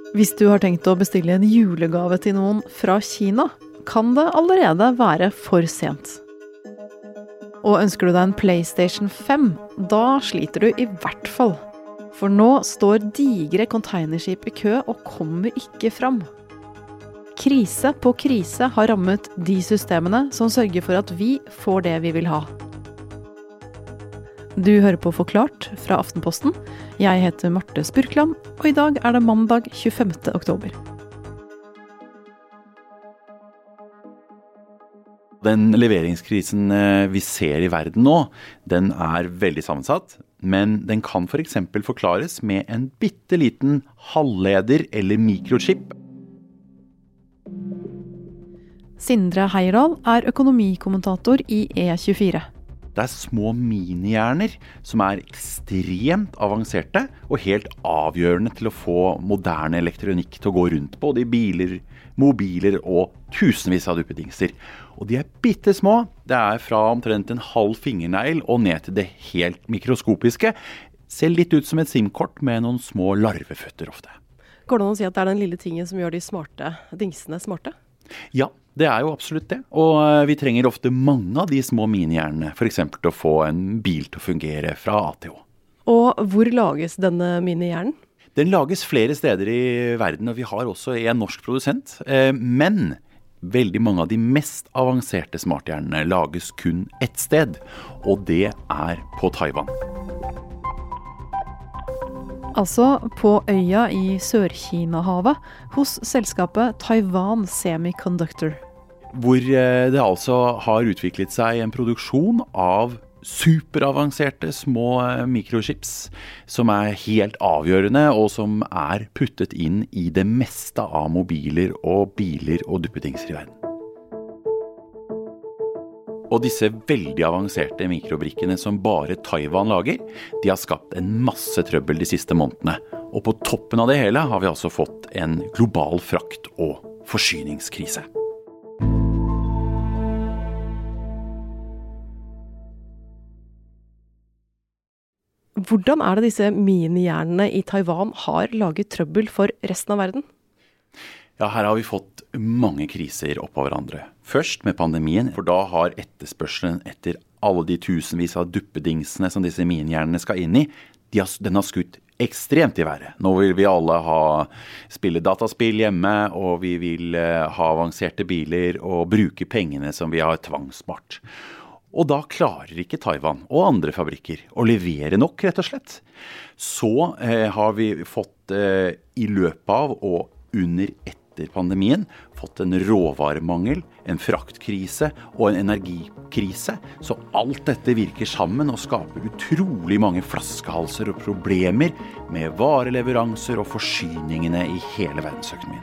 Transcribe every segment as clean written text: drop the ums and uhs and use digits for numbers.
Hvis du har tenkt å bestille en julegave til noen fra Kina, kan det allerede være for sent. Og ønsker du deg en PlayStation 5, da sliter du i hvert fall. For nå står digre containerskip i kø og kommer ikke fram. Krise på krise har rammet de systemene som sørger for at vi får det vi vil ha. Du hører på Forklart fra Aftenposten. Jeg heter Marte Spurkland, og i dag er det mandag 25. oktober. Den leveringskrisen vi ser i verden nå, den er veldig sammensatt, men den kan for eksempel forklares med en bitteliten halvleder eller mikrochip. Sindre Heierdal er økonomikommentator i E24. Det er små minihjerner som er ekstremt avanserte og helt avgjørende til å få moderne elektronikk til å gå rundt på, både i biler, mobiler og tusenvis av duppedingser. Og de er bittesmå. Det er fra omtrent en halv fingernegl og ned til det helt mikroskopiske. Ser litt ut som et SIM-kort med noen små larveføtter ofte. Går det an å si at det er den lille tingen som gjør de smarte dingsene smarte? Ja, det er jo absolutt det. Og vi trenger ofte mange av de små minihjernene, for eksempel til å få en bil til å fungere fra A til Å. Og hvor lages denne minihjernen? Den lages flere steder i verden, og vi har også en norsk produsent. Men veldig mange av de mest avanserte smarthjernene lages kun ett sted, og det er på Taiwan. Altså på øya i Sør-Kina-havet hos selskapet Taiwan Semiconductor. Hvor det altså har utviklet seg en produksjon av superavanserte små mikrochips som er helt avgjørende og som er puttet inn i det meste av mobiler og biler og duppedingser i verden. Og disse veldig avanserte mikrobrikkene som bare Taiwan lager, de har skapt en masse trøbbel de siste månedene. Og på toppen av det hele har vi altså fått en global frakt- og forsyningskrise. Hvordan er det disse minihjernene i Taiwan har laget trøbbel for resten av verden? Ja, her har vi fått mange kriser oppå hverandre. Først med pandemien, for da har etterspørselen etter alle de tusenvis av duppedingsene som disse minihjernene skal inn i, den har skutt ekstremt i været. Nå vil vi alle spille dataspill hjemme, og vi vil ha avanserte biler og bruke pengene som vi har tvangsspart. Og da klarer ikke Taiwan og andre fabrikker å levere nok, rett og slett. Så har vi fått i løpet av og under etter pandemien fått en råvaremangel, en fraktkrise og en energikrise. Så alt dette virker sammen og skaper utrolig mange flaskehalser og problemer med vareleveranser og forsyningene i hele verdensøkonomien.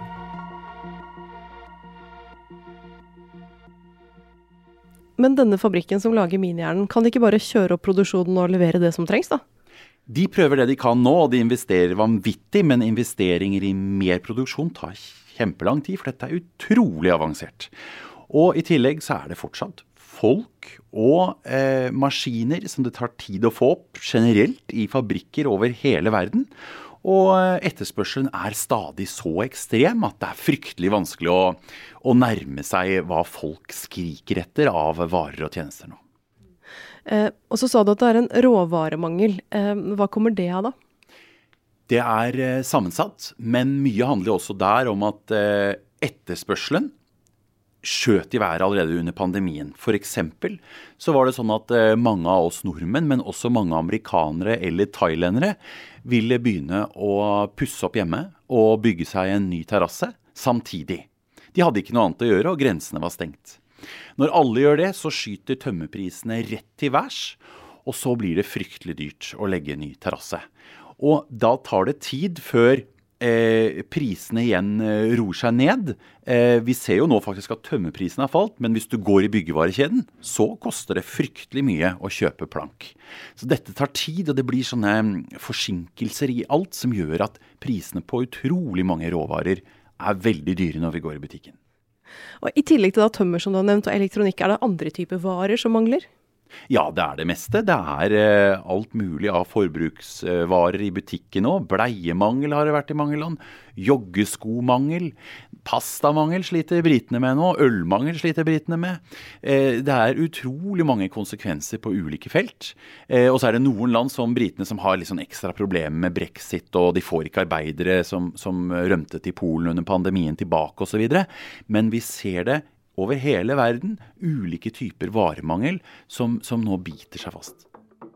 Men denne fabrikken som lager minihjernen, kan de ikke bare kjøre opp produksjonen og levere det som trengs da? De prøver det de kan nå, og de investerer vanvittig, men investeringer i mer produksjon tar kjempelang tid, for dette er utrolig avansert. Og i tillegg så er det fortsatt folk og maskiner som det tar tid å få opp generelt i fabrikker over hele verden. Og etterspørselen er stadig så ekstrem at det er fryktelig vanskelig å nærme seg hva folk skriker etter av varer og tjenester nå. Og så sa du at det er en råvaremangel. Hva kommer det av da? Det er sammensatt, men mye handler også der om at etterspørselen skjøt i været allerede under pandemien. For eksempel så var det sånn at mange av oss nordmenn, men også mange amerikanere eller thailendere, ville begynne å pusse opp hjemme og bygge seg en ny terrasse samtidig. De hadde ikke noe annet å gjøre, og grensene var stengt. Når alle gjør det, så skyter tømmerprisene rett til værs, og så blir det fryktelig dyrt å legge en ny terrasse. Og da tar det tid før prisene igjen roer seg ned. Vi ser jo nå faktisk at tømmerprisen har falt, men hvis du går i byggevarekjeden, så koster det fryktelig mye å kjøpe plank. Så dette tar tid, og det blir sånne forsinkelser i alt som gjør at prisene på utrolig mange råvarer er veldig dyre når vi går i butikken. Og i tillegg til da tømmer som du har nevnt og elektronikk, er det andre typer varer som mangler? Ja, det det meste. Det alt mulig av forbruksvarer i butikken nå. Bleiemangel har det vært i mange land. Joggeskomangel. Pastamangel sliter britene med nå. Ølmangel sliter britene med. Det utrolig mange konsekvenser på ulike felt. Og så det noen land som britene som har litt sånn ekstra problemer med Brexit, og de får ikke arbeidere som rømte til Polen under pandemien tilbake og så videre. Men vi ser det over hele verden, ulike typer varemangel som nå biter seg fast.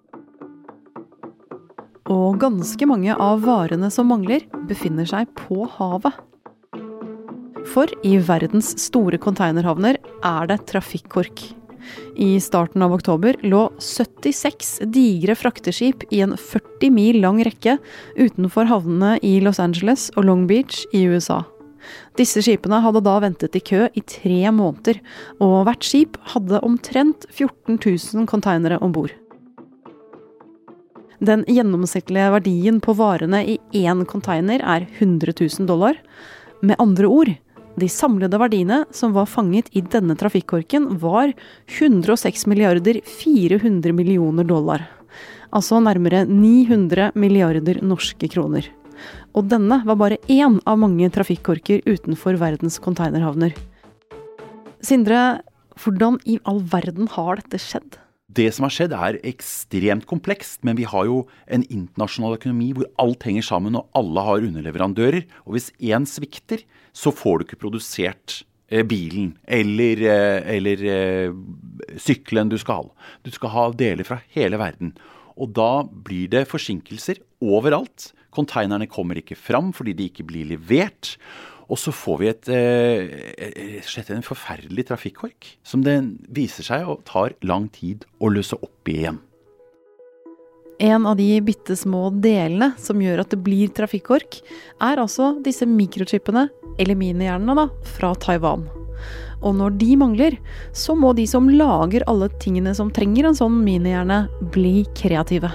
Og ganske mange av varene som mangler, befinner seg på havet. For i verdens store containerhavner det trafikkork. I starten av oktober lå 76 digre frakteskip i en 40 mil lang rekke utenfor havnene i Los Angeles og Long Beach i USA. Disse skipene hadde da ventet i kø i 3 måneder, og hvert skip hadde omtrent 14 000 containere ombord. Den gjennomsnittlige verdien på varene i én container $100 000. Med andre ord, de samlede verdiene som var fanget i denne trafikkorken var $106 400 millioner. Altså nærmere 900 milliarder norske kroner. Og denne var bare én av mange trafikkorker utenfor verdens containerhavner. Sindre, hvordan i all verden har dette skjedd? Det som har skjedd ekstremt komplekst, men vi har jo en internasjonal økonomi hvor alt henger sammen og alle har underleverandører. Og hvis en svikter, så får du ikke produsert bilen eller sykkelen du skal ha. Du skal ha deler fra hele verden. Og da blir det forsinkelser overalt. Containerne kommer ikke fram fordi de ikke blir levert. Og så får vi en forferdelig trafikkork som det viser seg og tar lang tid å løse opp igjen. En av de bittesmå delene som gjør at det blir trafikkork, altså disse mikrochipene, eller minihjernene fra Taiwan. Og når de mangler, så må de som lager alle tingene som trenger en sånn minihjerne, bli kreative.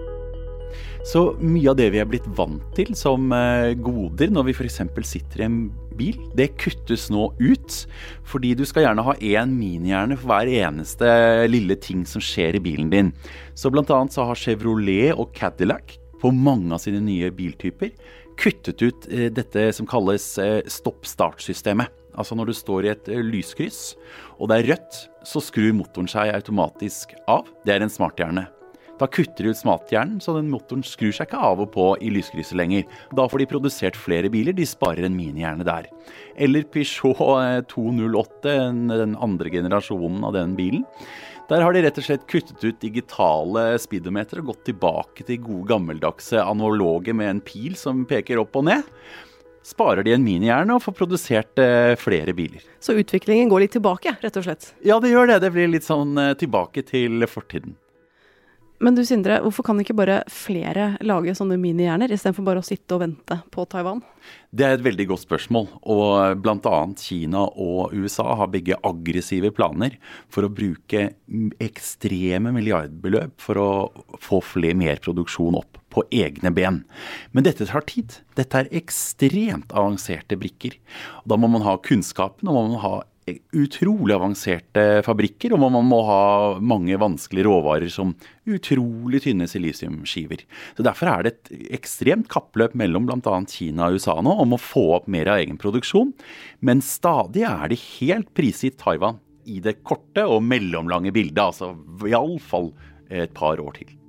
Så mye av det vi blitt vant til som goder når vi for eksempel sitter i en bil, det kuttes nå ut, fordi du skal gjerne ha en minihjerne for hver eneste lille ting som skjer i bilen din. Så blant annet så har Chevrolet og Cadillac på mange av sine nye biltyper kuttet ut dette som kalles stopp-start-systemet. Altså når du står i et lyskryss, og det rødt, så skrur motoren seg automatisk av. Det en smarthjerne. Da kutter de ut smarthjernen, så den motoren skrur seg ikke av og på i lyskrysset lenger. Da får de produsert flere biler, de sparer en minihjerne der. Eller Peugeot 208, den andre generasjonen av den bilen. Der har de rett og slett kuttet ut digitale speedometer og gått tilbake til gode gammeldagse analoge med en pil som peker opp og ned. Sparer de en minihjerne og får produsert flere biler. Så utviklingen går litt tilbake, rett og slett? Ja, det gjør det. Det blir litt sånn tilbake til fortiden. Men du Sindre, hvorfor kan ikke bare flere lage sånne minihjerner, i stedet for bare å sitte og vente på Taiwan? Det et veldig godt spørsmål, og blant annet Kina og USA har begge aggressive planer for å bruke ekstreme milliardbeløp for å få mer produksjon opp på egne ben. Men dette tar tid. Dette ekstremt avanserte brikker. Og da må man ha kunnskapen, og man må ha utrolig avanserte fabrikker, og man må ha mange vanskelige råvarer som utrolig tynne silisiumskiver. Så derfor det et ekstremt kappløp mellom blant annet Kina og USA nå om å få opp mer av egen produksjon, men stadig det helt prisgitt Taiwan i det korte og mellomlange bildet, altså i alle fall et par år til.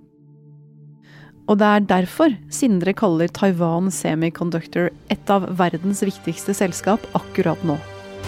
Og det derfor Sindre kaller Taiwan Semiconductor et av verdens viktigste selskap akkurat nå.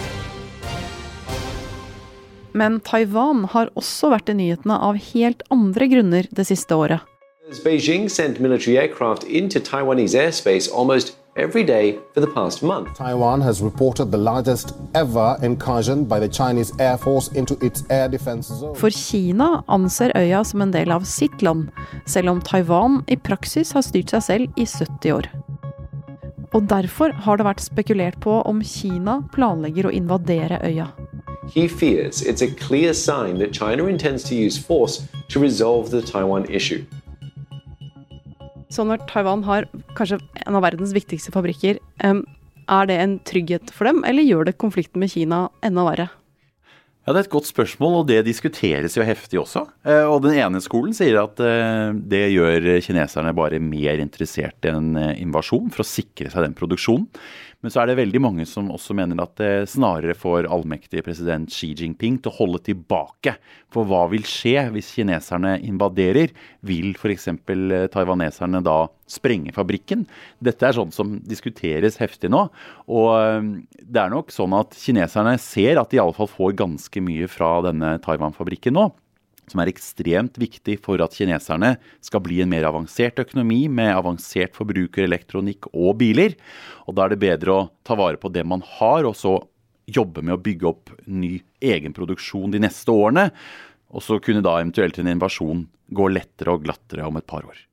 Men Taiwan har også vært i nyhetene av helt andre grunner det siste året. Beijing sent military aircraft into Taiwanese airspace almost every day for the past month. Taiwan has reported the largest ever incursion by the Chinese Air Force into its air defense zone. For Kina anser øya som en del av sitt land, selv om Taiwan i praksis har styrt seg selv i 70 år. Og derfor har det vært spekulert på om Kina planlegger å invadere øya. He fears it's a clear sign that China intends to use force to resolve the Taiwan issue. Så når Taiwan har kanskje en av verdens viktigste fabrikker, det en trygghet for dem, eller gjør det konflikten med Kina enda verre? Ja, det er et godt spørsmål, og det diskuteres jo heftig også. Og den ene skolen sier at det gjør kineserne bare mer interessert i en invasjon for å sikre seg den produksjonen. Men så er det veldig mange som også mener at det snarere får allmektige president Xi Jinping til å holde tilbake. For hva vil skje hvis kineserne invaderer? Vil for eksempel taiwaneserne da sprenge fabrikken? Dette er sånt som diskuteres heftig nå. Og det er nok sånn at kineserne ser at de i alle fall får ganske mye fra denne Taiwan-fabrikken nå, som er ekstremt viktig for at kineserne skal bli en mer avansert økonomi med avansert forbrukerelektronikk og biler. Og da er det bedre å ta vare på det man har, og så jobbe med å bygge opp ny egen produksjon de neste årene, og så kunne da eventuelt en invasjon gå lettere og glattere om et par år.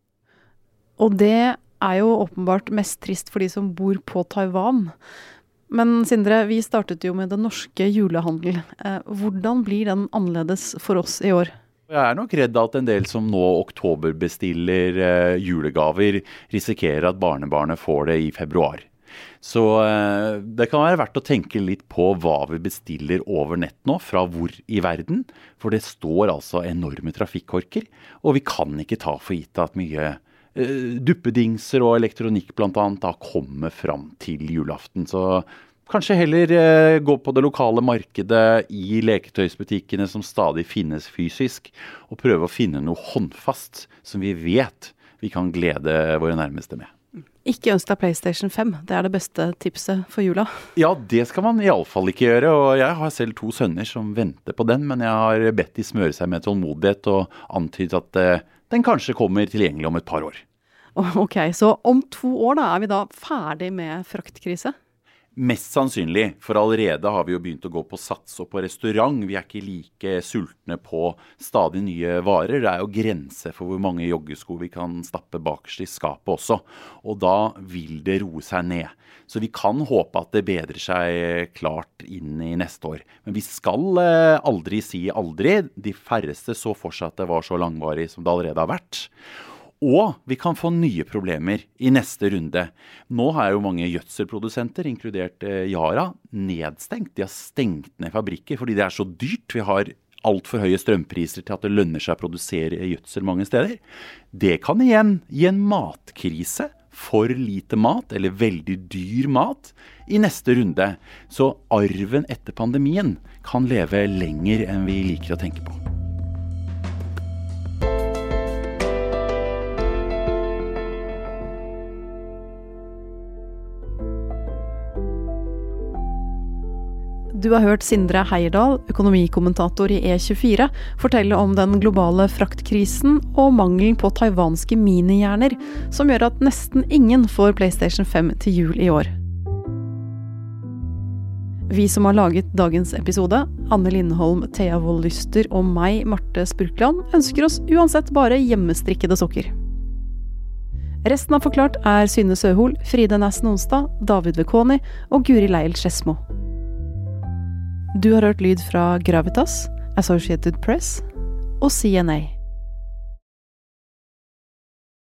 Og det er jo åpenbart mest trist for de som bor på Taiwan. Men Sindre, vi startet jo med den norske julehandel. Hvordan blir den annerledes for oss i år? Jeg er nok redd at en del som nå oktoberbestiller julegaver risikerer at barnebarnet får det i februar. Så det kan være verdt å tenke litt på hva vi bestiller over nett nå, fra hvor i verden. For det står altså enorme trafikkorker, og vi kan ikke ta for gitt at mye duppedingser og elektronikk blant annet da kommer fram til julaften. Så kanskje heller gå på det lokale markedet i leketøysbutikkene som stadig finnes fysisk, og prøve å finne noe håndfast som vi vet vi kan glede våre nærmeste med. Ikke ønsk deg PlayStation 5, det er det beste tipset for jula. Ja, det skal man i alle fall ikke gjøre, og jeg har selv 2 sønner som venter på den, men jeg har bedt de smøre seg med tålmodighet og antydet at den kanskje kommer tilgjengelig om et par år. Ok, så om 2 år da er vi da ferdig med fraktkrise? Mest sannsynlig, for allerede har vi jo begynt å gå på sats og på restaurant. Vi er ikke like sultne på stadig nye varer. Det er jo grenser for hvor mange joggesko vi kan stappe bakerst i skapet også. Og da vil det roe seg ned. Så vi kan håpe at det bedrer seg klart inn i neste år. Men vi skal aldri si aldri. De færreste så for seg at det var så langvarig som det allerede har vært. Og vi kan få nye problemer i neste runde. Nå har jo mange gjødselprodusenter, inkludert Yara, nedstengt. De har stengt ned fabrikker fordi det er så dyrt. Vi har alt for høye strømpriser til at det lønner seg å produsere gjødsel mange steder. Det kan igjen gi en matkrise, for lite mat eller veldig dyr mat i neste runde. Så arven etter pandemien kan leve lenger enn vi liker å tenke på. Du har hørt Sindre Heierdal, økonomikommentator i E24, fortelle om den globale fraktkrisen og mangelen på taiwanske minihjerner, som gjør at nesten ingen får PlayStation 5 til jul i år. Vi som har laget dagens episode, Anne Lindholm, Thea Wold Lyster og meg, Marte Spurkland, ønsker oss uansett bare hjemmestrikkede sokker. Resten av Forklart er Synne Søhol, Fride Næssen Onsdag, David Vekoni og Guri Leil Skedsmo. Du har hørt lyd fra Gravitas, Associated Press og CNA.